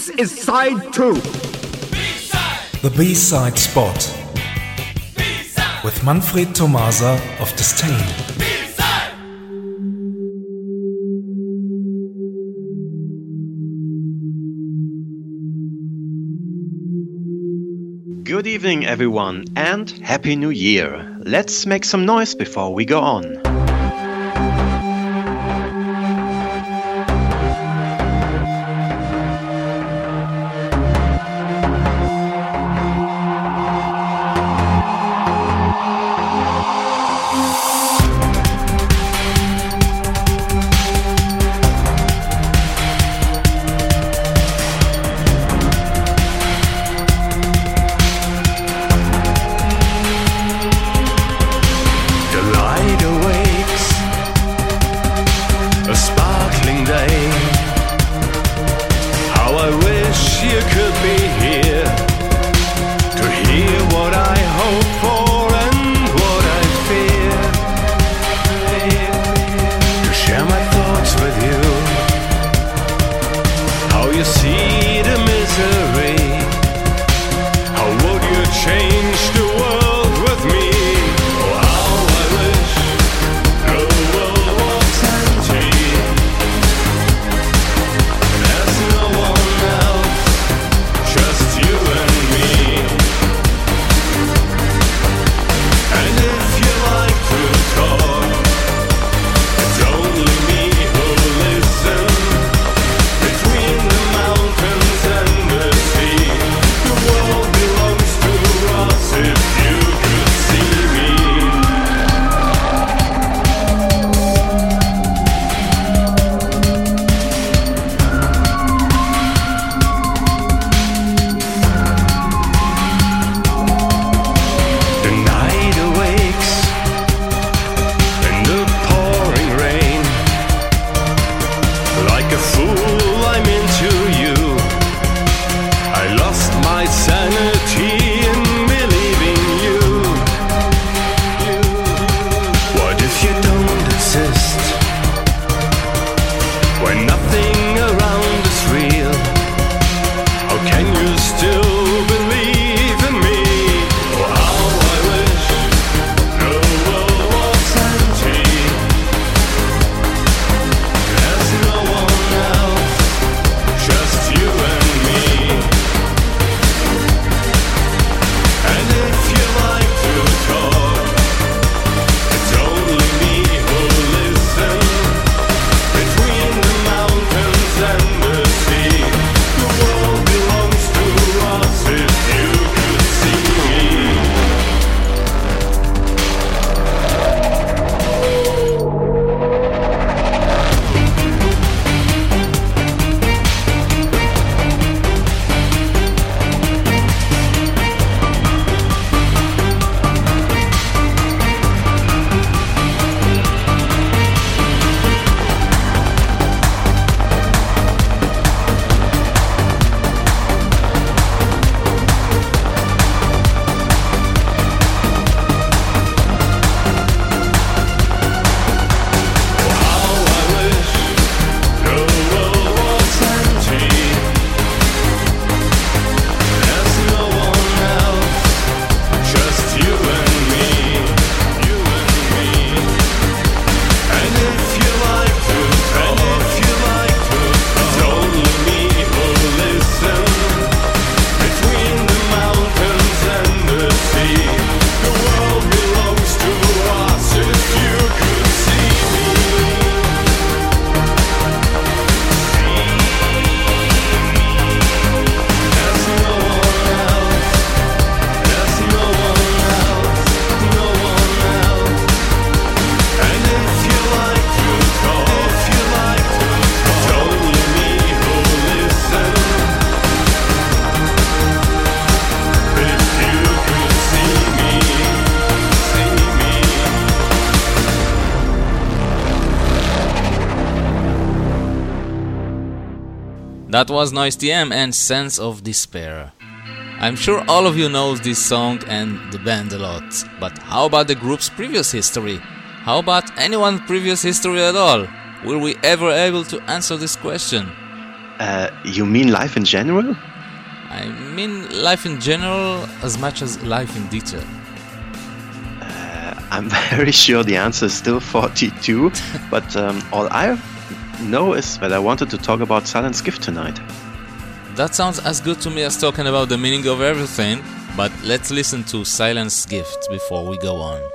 This is side 2. B-side. The B-side spot. B-side. With Manfred Tomasa of Disdain. Good evening, everyone, and Happy New Year! Let's make some noise before we go on. That was Noise TM and Sense of Despair. I'm sure all of you knows this song and the band a lot, but how about the group's previous history? How about anyone's previous history at all? Will we ever able to answer this question? You mean life in general? I mean life in general as much as life in detail. I'm very sure the answer is still 42, but all I know is that I wanted to talk about Silence Gift tonight. That sounds as good to me as talking about the meaning of everything, but let's listen to Silence Gift before we go on.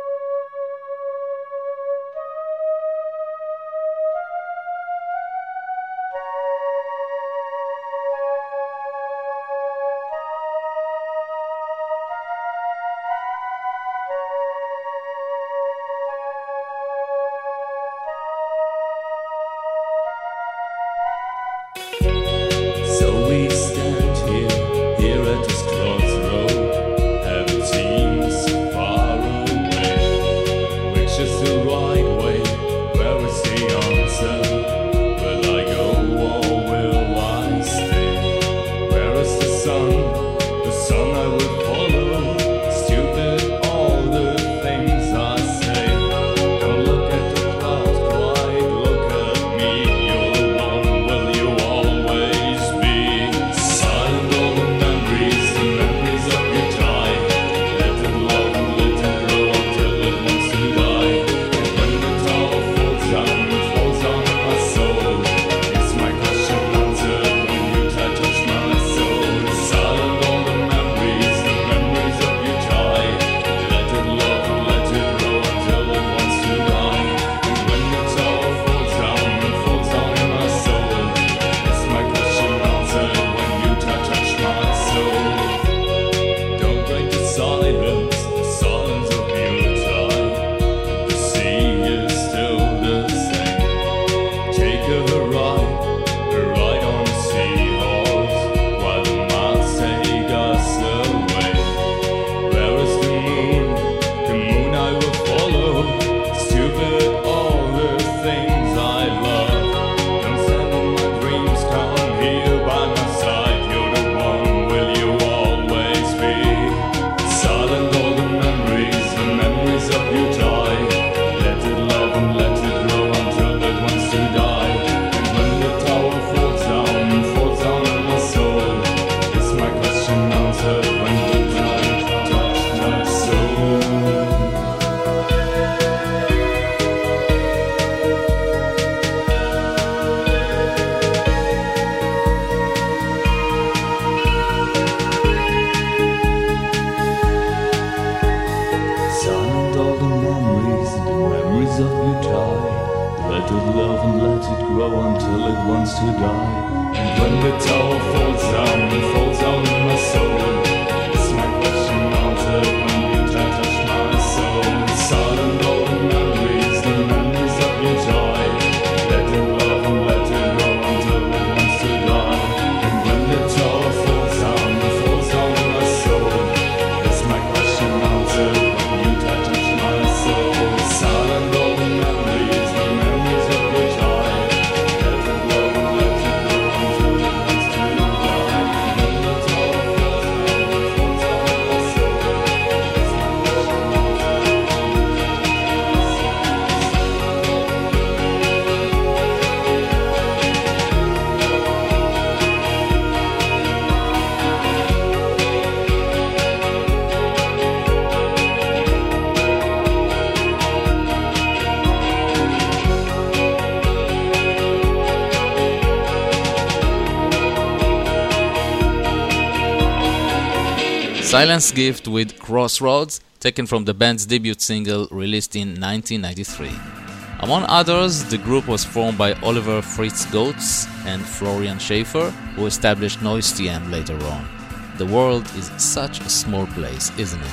Silence Gift with Crossroads, taken from the band's debut single released in 1993. Among others, the group was formed by Oliver Fritz Goetz and Florian Schaefer, who established Noise TM later on. The world is such a small place, isn't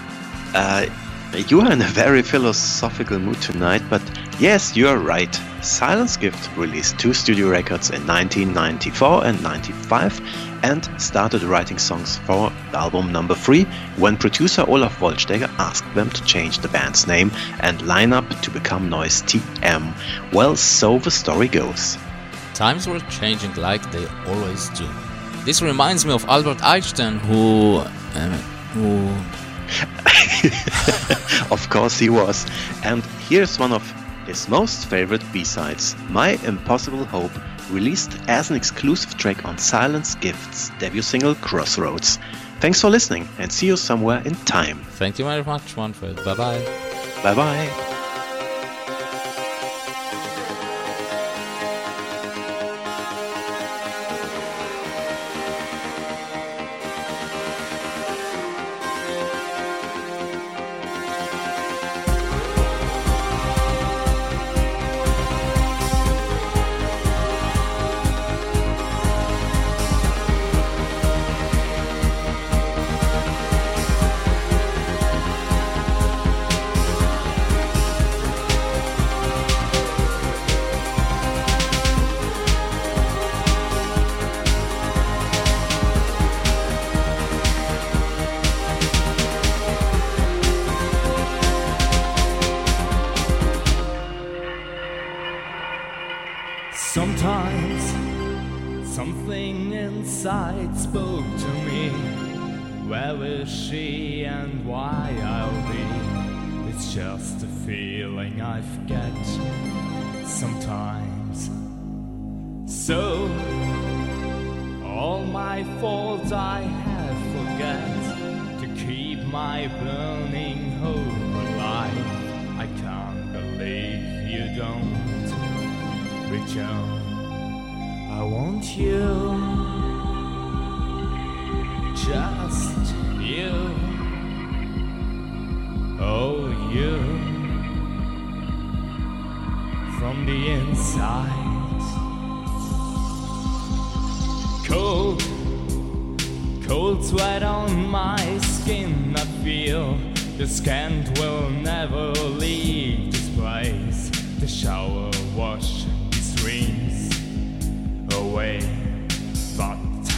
it? You are in a very philosophical mood tonight, but yes, you are right. Silence Gift released 2 studio records in 1994 and 95 and started writing songs for album number 3 when producer Olaf Wollstegger asked them to change the band's name and line up to become Noise TM. Well, so the story goes. Times were changing like they always do. This reminds me of Albert Einstein, who Of course he was. And here's one of his most favorite B-sides, My Impossible Hope, released as an exclusive track on Silence Gift's debut single Crossroads. Thanks for listening and see you somewhere in time. Thank you very much, Manfred. Bye-bye. Bye-bye. Sometimes something inside spoke to me. Where is she and why I'll be? It's just a feeling I forget sometimes. So all my faults I have forget to keep my burning hope alive. I can't believe you don't return. I want you, just you, oh you, from the inside. Cold, cold sweat on my skin, I feel the scent will never leave this place. The shower wash dreams away, but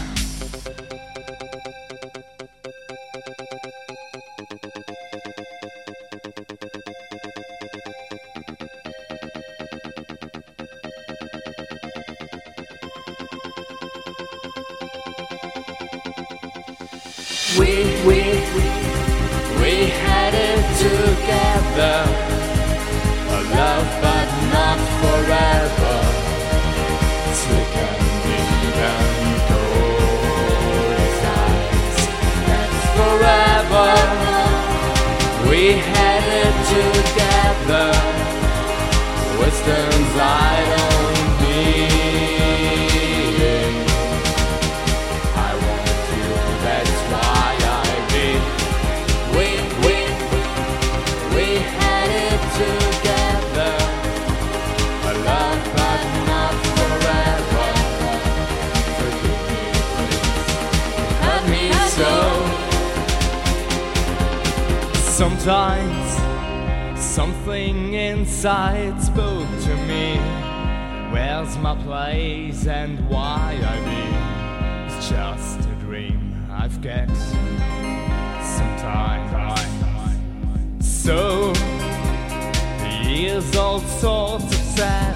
we had it together, a love but not forever. Slick and deep and cold eyes, that's forever. We had it together, Western side on being. I want you, that's why I did. We had it together, a love but not forever. Forgive me, please, it hurt me so. Sometimes something inside spoke to me. Where's my place and why I be? It's just a dream I've got sometimes. So the years all sorts of sad